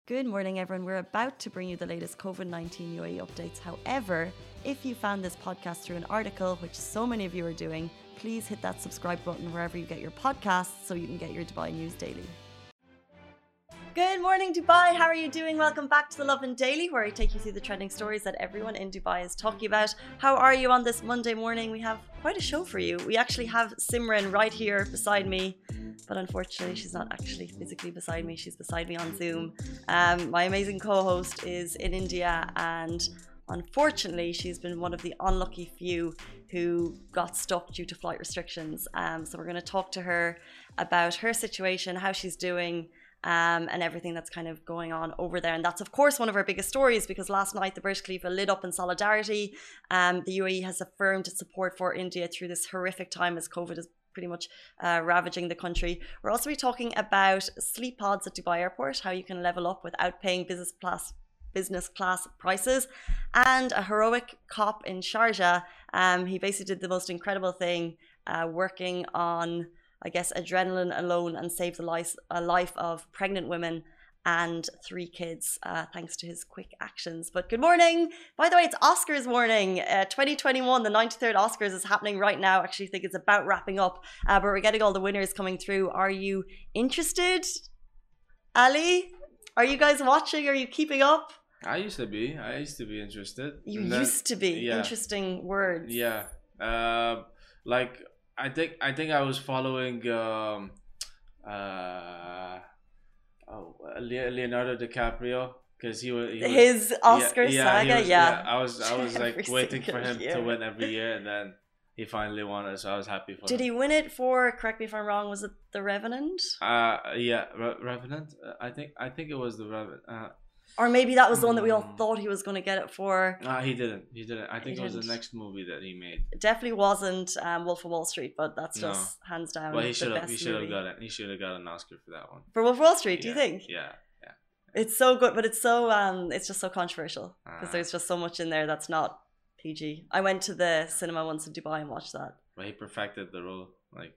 Good morning, everyone. We're about to bring you the latest COVID-19 UAE updates. However, if you found this podcast through an article, which so many of you are doing, please hit that subscribe button wherever you get your podcasts so you can get your Dubai news daily. Good morning, Dubai. How are you doing? Welcome back to the Lovin Daily, where I take you through the trending stories that everyone in Dubai is talking about. How are you on this Monday morning? We have quite a show for you. We actually have Simran right here beside me, but unfortunately she's not actually physically beside me. She's beside me on Zoom. My amazing co-host is in India, and unfortunately she's been one of the unlucky few who got stuck due to flight restrictions. So we're going to talk to her about her situation, how she's doing, and everything that's kind of going on over there. And that's of course one of our biggest stories, because last night the Burj Khalifa lit up in solidarity. The UAE has affirmed its support for India through this horrific time as COVID is pretty much ravaging the country. We're also talking about sleep pods at Dubai Airport, how you can level up without paying business class prices, and a heroic cop in Sharjah. He basically did the most incredible thing, working on, I guess, adrenaline alone, and saved a life of pregnant women and 3 kids, thanks to his quick actions. But good morning. By the way, it's Oscars morning. 2021, the 93rd Oscars is happening right now. Actually, I think it's about wrapping up, but we're getting all the winners coming through. Are you interested, Ali? Are you guys watching? Are you keeping up? I used to be interested. You used to be? Yeah. Interesting words. Yeah. Like, I think I was following Leonardo DiCaprio, because he was his Oscar saga. Yeah, I was like waiting for him to win every year, and then he finally won it, so I was happy for him. Did he win it for, correct me if I'm wrong, was it The Revenant? Revenant. I think it was The Revenant. Or maybe that was the one that we all thought he was going to get it for. He didn't. I think it was the next movie that he made. It definitely wasn't Wolf of Wall Street, but that's just hands down. Well, he should have got it. He should have got an Oscar for that one. For Wolf of Wall Street, do you think? Yeah. It's so good, but it's so it's just so controversial, because there's just so much in there that's not PG. I went to the cinema once in Dubai and watched that. But he perfected the role, like.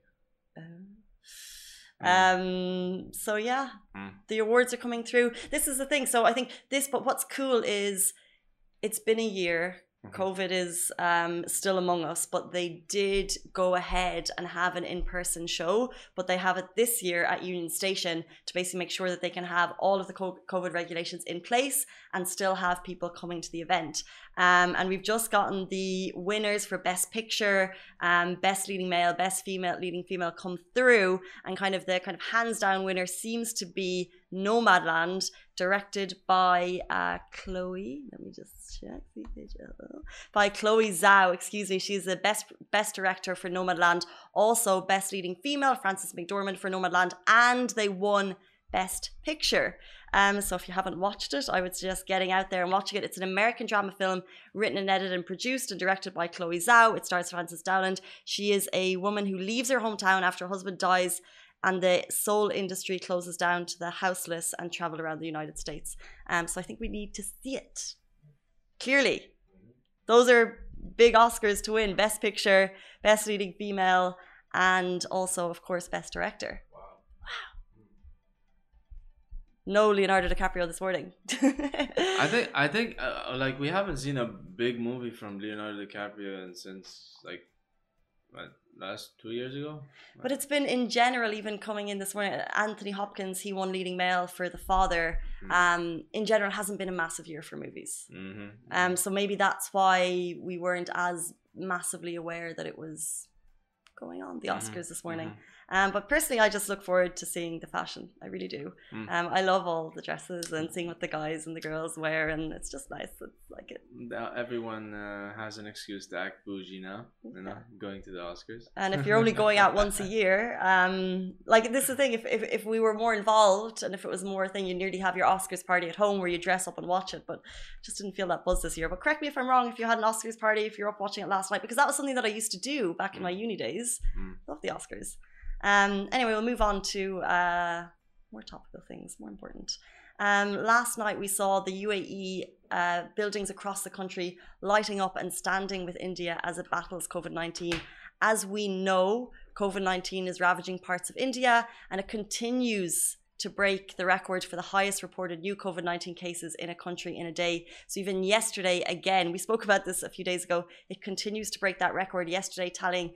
So yeah, the awards are coming through. This is the thing. So I think but what's cool is it's been a year. COVID is still among us, but they did go ahead and have an in-person show, but they have it this year at Union Station to basically make sure that they can have all of the COVID regulations in place and still have people coming to the event. And we've just gotten the winners for Best Picture, Best Leading Male, Best Leading Female come through, and the hands down winner seems to be Nomadland, directed by Chloe. Let me just check. By Chloe Zhao. Excuse me. She's the best director for Nomadland. Also, Best Leading Female, Frances McDormand for Nomadland, and they won Best Picture. So if you haven't watched it, I would suggest getting out there and watching it. It's an American drama film written and edited and produced and directed by Chloe Zhao. It stars Frances Dowland. She is a woman who leaves her hometown after her husband dies, and the soul industry closes down to the houseless, and travel around the United States. So I think we need to see it. Clearly, those are big Oscars to win. Best Picture, Best Leading Female, and also, of course, Best Director. Wow. No Leonardo DiCaprio this morning. I think like, we haven't seen a big movie from Leonardo DiCaprio since like last 2 years ago. But it's been in general, even coming in this morning, Anthony Hopkins, he won Leading Male for The Father. In general, it hasn't been a massive year for movies. So maybe that's why we weren't as massively aware that it was going on, the Oscars this morning. But personally, I just look forward to seeing the fashion. I really do. I love all the dresses and seeing what the guys and the girls wear, and it's just nice. It's like it. Now everyone has an excuse to act bougie now, going to the Oscars. And if you're only going out once a year, like, this is the thing. If we were more involved, and if it was more a thing, you nearly have your Oscars party at home where you dress up and watch it. But just didn't feel that buzz this year. But correct me if I'm wrong. If you had an Oscars party, if you're up watching it last night, because that was something that I used to do back in my uni days. Love the Oscars. Anyway, we'll move on to more topical things, more important. Last night we saw the UAE buildings across the country lighting up and standing with India as it battles COVID-19. As we know, COVID-19 is ravaging parts of India, and it continues to break the record for the highest reported new COVID-19 cases in a country in a day. So even yesterday, again, we spoke about this a few days ago, it continues to break that record. Yesterday, tallying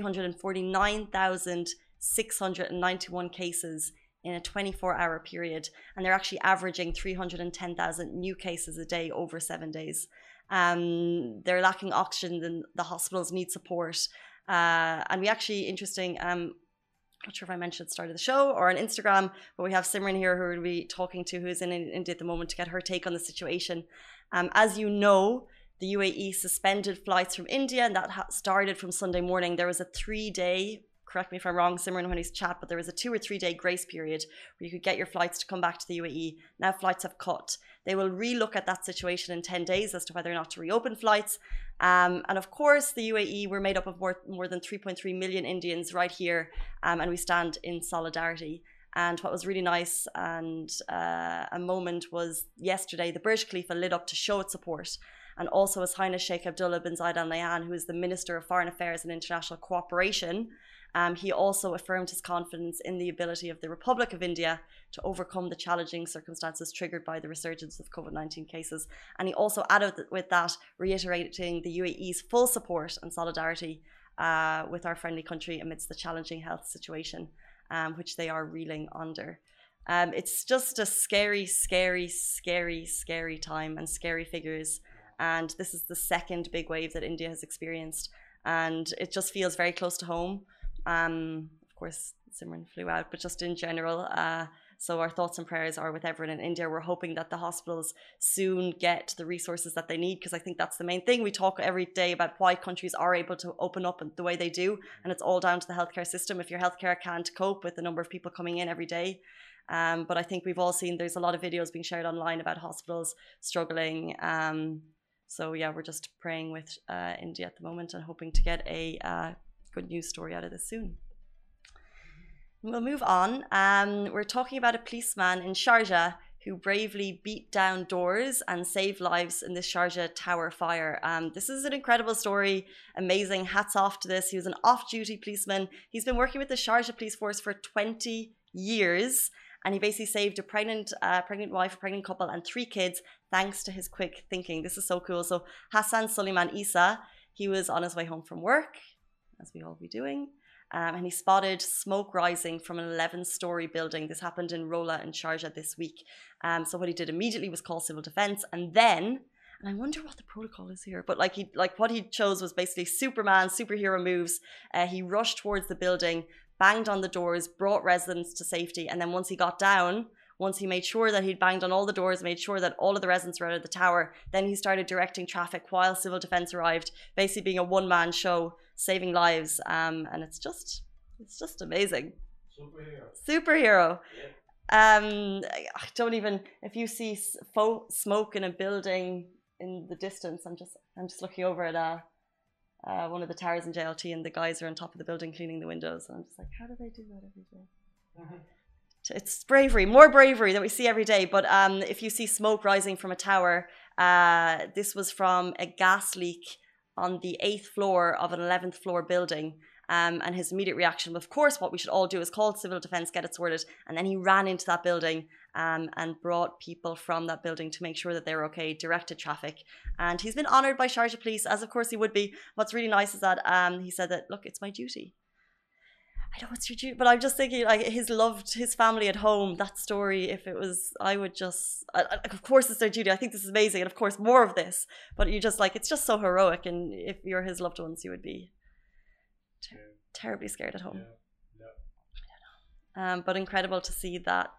349,691 cases in a 24-hour period. And they're actually averaging 310,000 new cases a day over 7 days. They're lacking oxygen and the hospitals need support. And we actually, interesting, not sure if I mentioned at the start of the show or on Instagram, but we have Simran here who we'll be talking to, who's in India at the moment, to get her take on the situation. As you know, the UAE suspended flights from India, and that started from Sunday morning. There was a 3-day, correct me if I'm wrong, Simran, when he's chat, but there was a 2 or 3 day grace period where you could get your flights to come back to the UAE. Now flights have cut. They will relook at that situation in 10 days as to whether or not to reopen flights. And of course, the UAE, we're made up of more than 3.3 million Indians right here, and we stand in solidarity. And what was really nice and a moment was yesterday, the Burj Khalifa lit up to show its support. And also His Highness Sheikh Abdullah bin Zayed Al Nahyan, who is the Minister of Foreign Affairs and International Cooperation, he also affirmed his confidence in the ability of the Republic of India to overcome the challenging circumstances triggered by the resurgence of COVID-19 cases. And he also added with that, reiterating the UAE's full support and solidarity with our friendly country amidst the challenging health situation which they are reeling under. It's just a scary, scary, scary, scary time and scary figures. And this is the second big wave that India has experienced. And it just feels very close to home. Of course, Simran flew out, but just in general. So our thoughts and prayers are with everyone in India. We're hoping that the hospitals soon get the resources that they need, because I think that's the main thing. We talk every day about why countries are able to open up the way they do, and it's all down to the healthcare system. If your healthcare can't cope with the number of people coming in every day. But I think we've all seen there's a lot of videos being shared online about hospitals struggling. So yeah, we're just praying with India at the moment and hoping to get a good news story out of this soon. We'll move on. We're talking about a policeman in Sharjah who bravely beat down doors and saved lives in the Sharjah Tower fire. This is an incredible story, amazing. Hats off to this. He was an off-duty policeman. He's been working with the Sharjah police force for 20 years, and he basically saved a pregnant wife, a pregnant couple, and 3 kids thanks to his quick thinking. This is so cool. So Hassan Suleiman Isa, he was on his way home from work, as we all be doing. And he spotted smoke rising from an 11-story building. This happened in Rola in Sharjah this week. So what he did immediately was call civil defense, and then, and I wonder what the protocol is here, but what he chose was basically Superman, superhero moves. He rushed towards the building, banged on the doors, brought residents to safety, and then once he got down, once he made sure that he'd banged on all the doors, made sure that all of the residents were out of the tower, then he started directing traffic while civil defense arrived, basically being a one-man show, saving lives. And it's just amazing. Superhero. Yeah. I don't even, if you see smoke in a building in the distance, I'm just looking over at one of the towers in JLT, and the guys are on top of the building cleaning the windows, and I'm just like, how do they do that every day? Mm-hmm. It's bravery, more bravery that we see every day. But if you see smoke rising from a tower, this was from a gas leak on the 8th floor of an 11th floor building. And his immediate reaction, of course, what we should all do is call civil defense, get it sorted. And then he ran into that building and brought people from that building to make sure that they were okay, directed traffic. And he's been honoured by Sharjah Police, as of course he would be. What's really nice is that he said that, look, it's my duty. I know it's your duty, but I'm just thinking, like, his family at home, that story, if it was, I would just, of course it's their duty. I think this is amazing. And of course, more of this. But you just, like, it's just so heroic. And if you're his loved ones, you would be terribly scared at home. Yeah. I don't know. But incredible to see that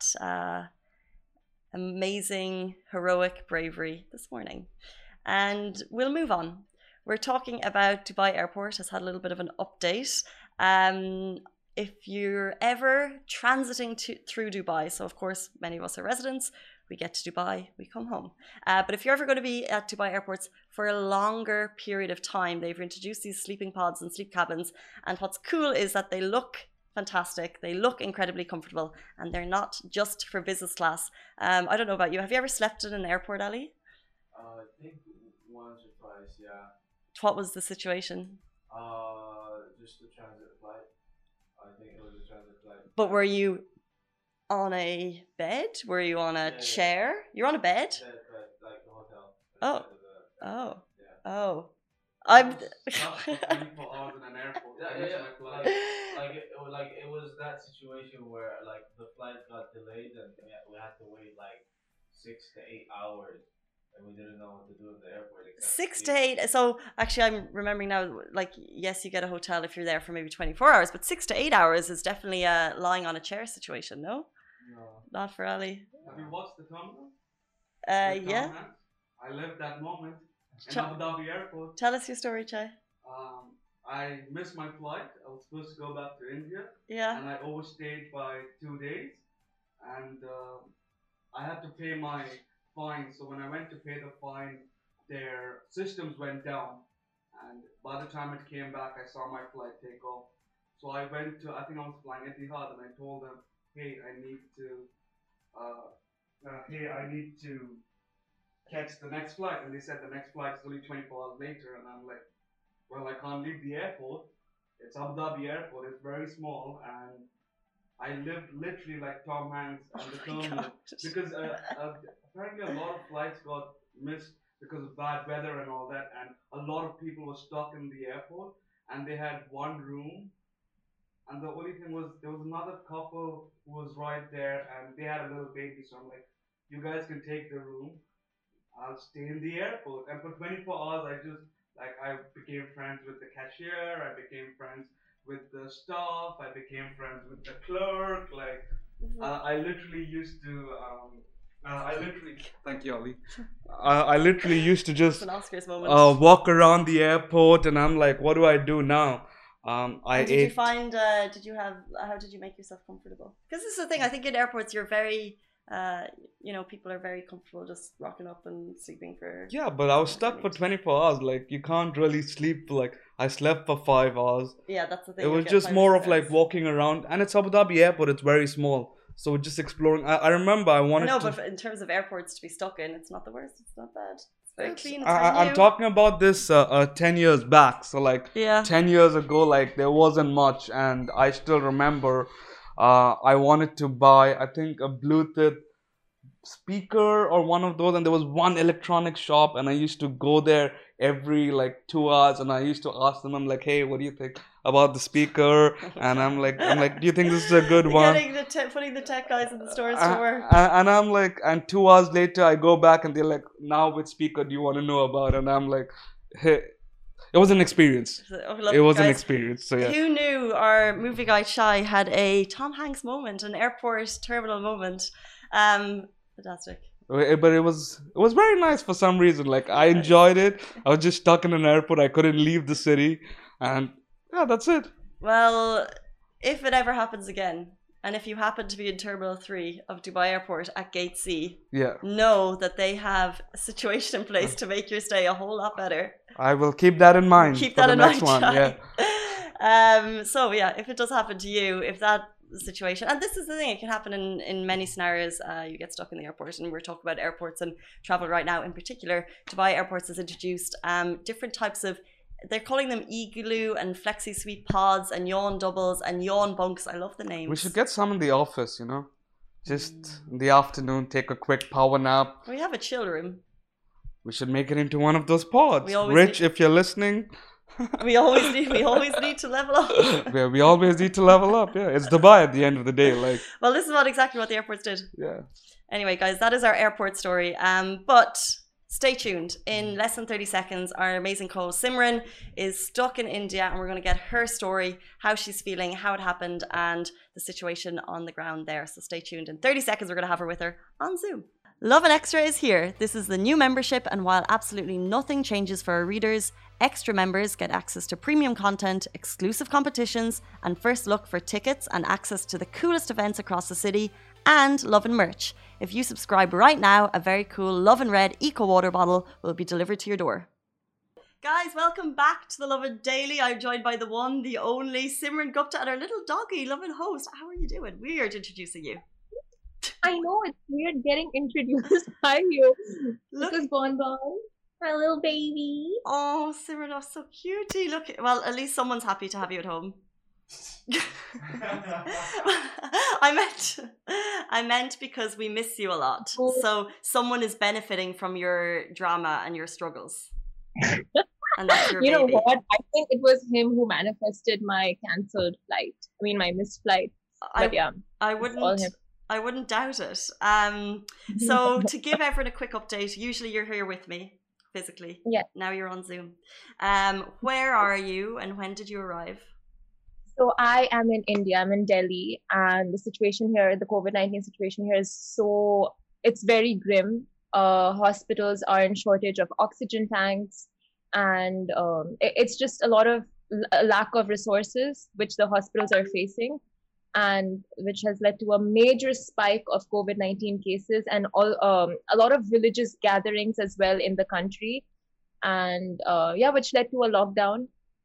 amazing, heroic bravery this morning. And we'll move on. We're talking about Dubai Airport has had a little bit of an update. If you're ever transiting through Dubai, so of course many of us are residents, we get to Dubai, we come home. But if you're ever going to be at Dubai airports for a longer period of time, they've introduced these sleeping pods and sleep cabins. And what's cool is that they look fantastic. They look incredibly comfortable, and they're not just for business class. I don't know about you. Have you ever slept in an airport, Ali? I think once or twice, yeah. What was the situation? Just a transit flight. I think it was a transit flight. But were you On a bed? Were you on a chair? You're on a bed? Like the hotel. Oh. Yeah. Oh. I'm. Stuck for 24 hours in an airport. I missed my flight. It was that situation where like the flight got delayed and we had to wait like 6 to 8 hours and we didn't know what to do in the airport. 6 to 8. So actually, I'm remembering now. Like, yes, you get a hotel if you're there for maybe 24 hours, but 6 to 8 hours is definitely a lying on a chair situation. No, not for Ali. Have you watched The Terminal? Yeah. I lived that moment in Abu Dhabi airport. Tell us your story, Chai. I missed my flight. I was supposed to go back to India. Yeah. And I overstayed by 2 days. And I had to pay my fine. So when I went to pay the fine, their systems went down. And by the time it came back, I saw my flight take off. So I went to, I think I was flying Etihad, and I told them, hey, I need to catch the next flight. And they said the next flight is only 24 hours later. And I'm like, well, I can't leave the airport. It's Abu Dhabi airport. It's very small. And I lived literally like Tom Hanks and the terminal. Because apparently a lot of flights got missed because of bad weather and all that. And a lot of people were stuck in the airport. And they had one room. And the only thing was, there was another couple who was right there. And they had a little baby. So I'm like, you guys can take the room. I'll stay in the airport. And for 24 hours, I became friends with the cashier. I became friends with the staff. I became friends with the clerk. I literally used to. Thank you, Ali. I literally used to just an Oscars moment. Walk around the airport, and I'm like, what do I do now? How did you make yourself comfortable? Because this is the thing. I think in airports you're very. People are very comfortable just rocking up and sleeping for. Yeah, but I was stuck for 24 hours. Like, you can't really sleep. Like, I slept for 5 hours. Yeah, that's the thing. It was just more of like walking around, and it's Abu Dhabi airport. It's very small, so we're just exploring. I remember I wanted. No, but in terms of airports to be stuck in, it's not the worst. It's not bad. It's very clean. It's I'm talking about this 10 years back. So 10 years ago, like there wasn't much, and I still remember. I wanted to buy, I think, a Bluetooth speaker or one of those, and there was one electronic shop, and I used to go there every 2 hours, and I used to ask them, I'm like, hey, what do you think about the speaker? And I'm like, do you think this is a good one? Putting the tech guys in the stores to work. And I'm like, and 2 hours later, I go back, and they're like, now which speaker do you want to know about? And I'm like, hey. It was an experience. It was an experience. So yeah. Who knew our movie guy Shai had a Tom Hanks moment, an airport terminal moment? Fantastic. But it was very nice for some reason. Like, I enjoyed it. I was just stuck in an airport. I couldn't leave the city, and yeah, that's it. Well, if it ever happens again, and if you happen to be in Terminal 3 of Dubai Airport at Gate C, know that they have a situation in place to make your stay a whole lot better. I will keep that in mind. Keep that in mind. One. Yeah. So yeah, if it does happen to you, if that situation, and this is the thing, it can happen in many scenarios. You get stuck in the airport, and we're talking about airports and travel right now. In particular, Dubai Airports has introduced different types of. They're calling them igloo and flexi suite pods and yawn doubles and yawn bunks. I love the names. We should get some in the office, just in the afternoon, take a quick power nap. We have a chill room. We should make it into one of those pods. Rich, if you're listening. we always need to level up. Yeah, we always need to level up. Yeah, it's Dubai at the end of the day. Well, this is exactly what the airports did. Yeah. Anyway, guys, that is our airport story. But stay tuned. In less than 30 seconds, our amazing co-host Simran is stuck in India, and we're going to get her story, how she's feeling, how it happened, and the situation on the ground there. So stay tuned. In 30 seconds, we're going to have her with her on Zoom. Lovin Extra is here. This is the new membership, and while absolutely nothing changes for our readers, extra members get access to premium content, exclusive competitions, and first look for tickets and access to the coolest events across the city, and Lovin merch. If you subscribe right now, a very cool Lovin Red Eco Water bottle will be delivered to your door. Guys, welcome back to the Lovin Daily. I'm joined by the one, the only Simran Gupta, and our little doggy, Lovin host. How are you doing? Weird introducing you. I know, it's weird getting introduced by you. Look, this is Bonbon, my little baby. Oh, Simran, oh, so cutie. Look, well, at least someone's happy to have you at home. I meant because we miss you a lot. Oh. So someone is benefiting from your drama and your struggles. And that's your You know baby. what? I think it was him who manifested my cancelled flight. I mean, my missed flight. But yeah, I it's all wouldn't him. I wouldn't doubt it. So to give everyone a quick update, usually you're here with me physically. Yeah. Now you're on Zoom. Where are you and when did you arrive? So I am in India. I'm in Delhi, and the situation here, the COVID-19 situation here it's very grim. Hospitals are in shortage of oxygen tanks, and it's just a lot of lack of resources which the hospitals are facing, and which has led to a major spike of COVID-19 cases and a lot of religious gatherings as well in the country, and which led to a lockdown,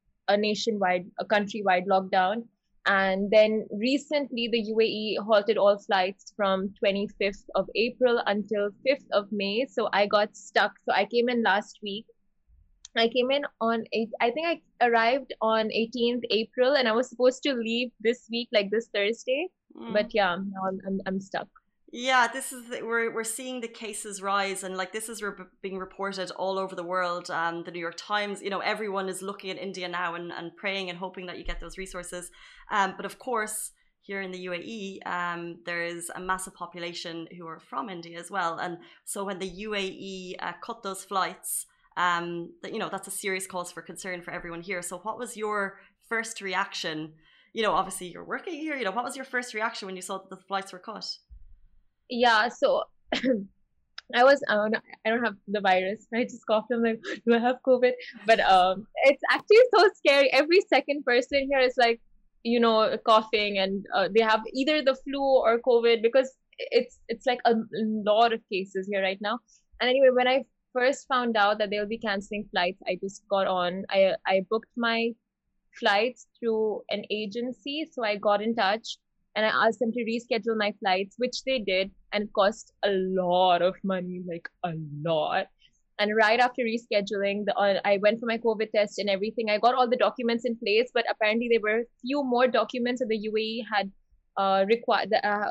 a countrywide lockdown. And then recently, the UAE halted all flights from 25th of April until 5th of May. So I got stuck. So I came in last week. I came in I think I arrived on 18th April, and I was supposed to leave this week, like this Thursday. But yeah, now I'm stuck. Yeah, this is we're seeing the cases rise, and like this is being reported all over the world. The New York Times, you know, everyone is looking at India now and praying and hoping that you get those resources. But of course, here in the UAE, there is a massive population who are from India as well, and so when the UAE cut those flights, you know, that's a serious cause for concern for everyone here. So, what was your first reaction? You know, obviously you're working here. You know, what was your first reaction when you saw that the flights were cut? Yeah, so I don't have the virus. I just coughed. I'm like, do I have COVID? But it's actually so scary. Every second person here is like, you know, coughing, and they have either the flu or COVID, because it's like a lot of cases here right now. And anyway, when I first found out that they'll be canceling flights, I just got on. I booked my flights through an agency, so I got in touch and I asked them to reschedule my flights, which they did, and it cost a lot of money, like a lot. And right after rescheduling, I went for my COVID test and everything. I got all the documents in place, but apparently there were a few more documents that the UAE had required.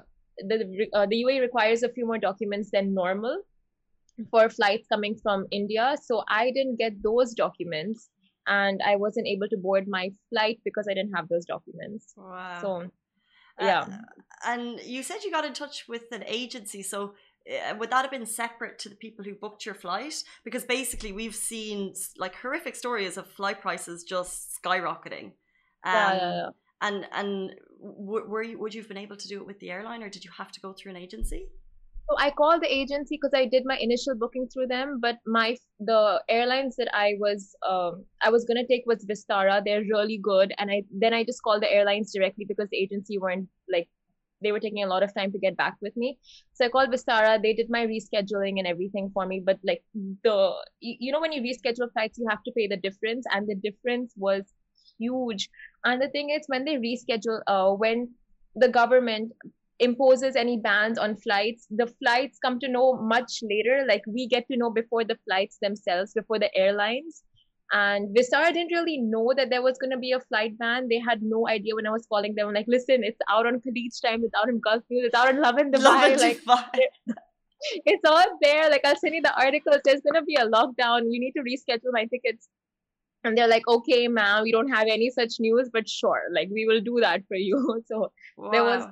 The UAE requires a few more documents than normal for flights coming from India. So I didn't get those documents, and I wasn't able to board my flight because I didn't have those documents. Wow. So yeah. And you said you got in touch with an agency, so would that have been separate to the people who booked your flight? Because basically we've seen like horrific stories of flight prices just skyrocketing. Yeah. And would you have been able to do it with the airline, or did you have to go through an agency? So I called the agency because I did my initial booking through them, but the airlines that I was gonna take was Vistara. They're really good, and I just called the airlines directly because the agency weren't, like, they were taking a lot of time to get back with me. So I called Vistara. They did my rescheduling and everything for me, but like you know, when you reschedule flights, you have to pay the difference, and the difference was huge. And the thing is, when they reschedule, when the government imposes any bans on flights, the flights come to know much later. Like, we get to know before the flights themselves, before the airlines. And Vistara didn't really know that there was going to be a flight ban. They had no idea. When I was calling them, I'm like, listen, it's out on Khalid time, it's out in Gulf News, it's out in Lovin Dubai. Like, it's all there. Like, I'll send you the articles. There's going to be a lockdown. You need to reschedule my tickets. And they're like, okay, ma'am, we don't have any such news, but sure, like, we will do that for you. So there was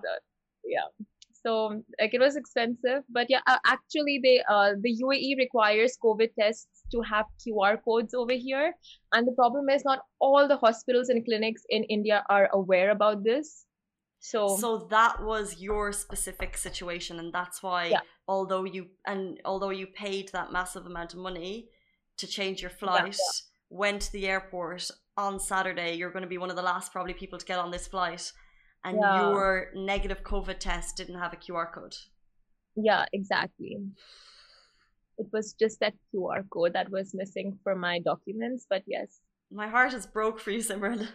so like, it was expensive, but yeah, actually the UAE requires COVID tests to have QR codes over here, and the problem is not all the hospitals and clinics in India are aware about this. So that was your specific situation, and that's why although you paid that massive amount of money to change your flight, went to the airport on Saturday, you're going to be one of the last probably people to get on this flight. And your negative COVID test didn't have a QR code. Yeah, exactly. It was just that QR code that was missing for my documents, but yes. My heart is broke for you, Simran.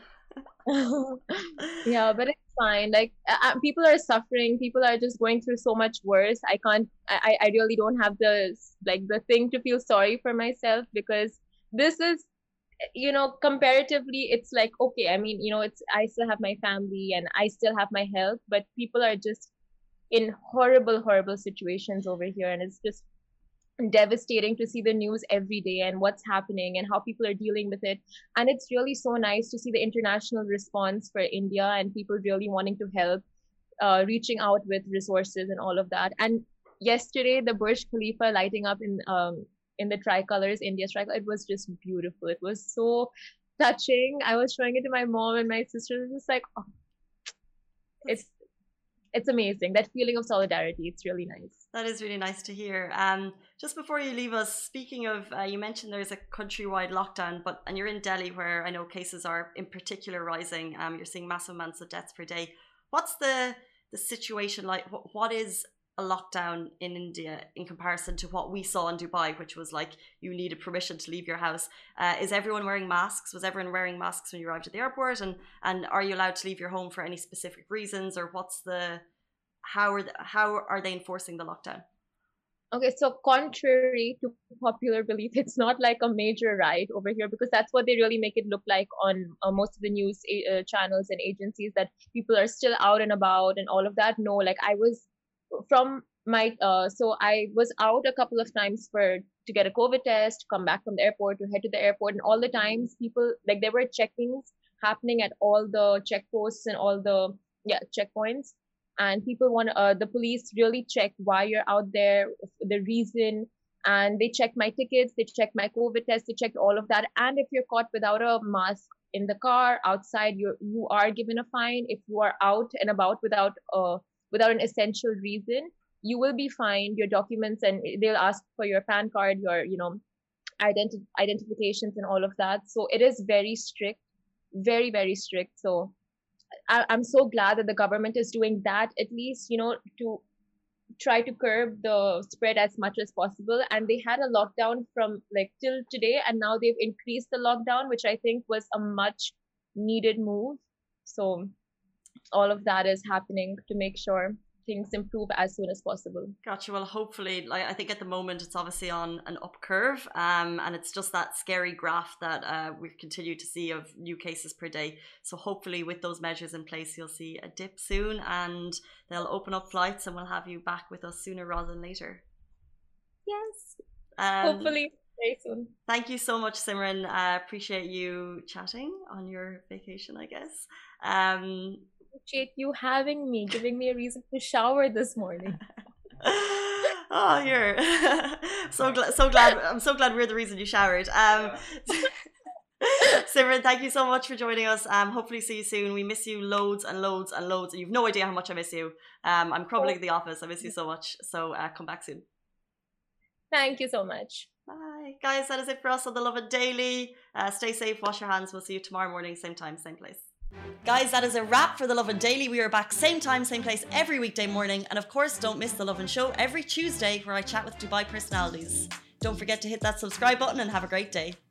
Yeah, but it's fine. Like, people are suffering. People are just going through so much worse. I really don't have the thing to feel sorry for myself, because this is comparatively, it's like, okay, I mean, I still have my family and I still have my health, but people are just in horrible, horrible situations over here. And it's just devastating to see the news every day and what's happening and how people are dealing with it. And it's really so nice to see the international response for India and people really wanting to help, reaching out with resources and all of that. And yesterday, the Burj Khalifa lighting up in the tricolors, India's tricolor, it was just beautiful. It was so touching. I was showing it to my mom and my sister. It was just like, oh, it's amazing. That feeling of solidarity, it's really nice. That is really nice to hear. Just before you leave us, speaking of, you mentioned there's a countrywide lockdown, and you're in Delhi, where I know cases are in particular rising. You're seeing massive amounts of deaths per day. What's the situation like? What is a lockdown in India in comparison to what we saw in Dubai, which was like you needed permission to leave your house? Is everyone wearing masks? Was everyone wearing masks when you arrived at the airport? And are you allowed to leave your home for any specific reasons, or how are they enforcing the lockdown? Okay, so contrary to popular belief, it's not like a major riot over here, because that's what they really make it look like on most of the news channels and agencies, that people are still out and about and all of that. No, like I was from my so I was out a couple of times to get a COVID test, come back from the airport, to head to the airport, and all the times people, like, there were checkings happening at all the checkposts and all the checkpoints, and people want the police really check why you're out there, the reason, and they check my tickets, they check my COVID test, they checked all of that. And if you're caught without a mask in the car, outside, you are given a fine. If you are out and about without an essential reason, you will be fined. Your documents, and they'll ask for your PAN card, your identifications and all of that. So it is very strict, very, very strict. So I'm so glad that the government is doing that, at least, to try to curb the spread as much as possible. And they had a lockdown from like till today, and now they've increased the lockdown, which I think was a much needed move. So all of that is happening to make sure things improve as soon as possible. Gotcha. Well, hopefully, like, I think at the moment it's obviously on an up curve, and it's just that scary graph that we continue to see of new cases per day. So hopefully with those measures in place, you'll see a dip soon, and they'll open up flights, and we'll have you back with us sooner rather than later. Yes. Hopefully very soon. Thank you so much, Simran. Appreciate you chatting on your vacation, I guess. Appreciate you having me, giving me a reason to shower this morning. Oh, you're so glad. I'm so glad we're the reason you showered. Simran, thank you so much for joining us. Hopefully see you soon. We miss you loads and loads and loads. You've no idea how much I miss you. I'm crumbling at the office. I miss you so much. So come back soon. Thank you so much. Bye. Guys, that is it for us on The Lovin Daily. Stay safe, wash your hands. We'll see you tomorrow morning, same time, same place. Guys, that is a wrap for The Lovin Daily. We are back same time, same place every weekday morning. And of course, don't miss The Lovin Show every Tuesday, where I chat with Dubai personalities. Don't forget to hit that subscribe button and have a great day.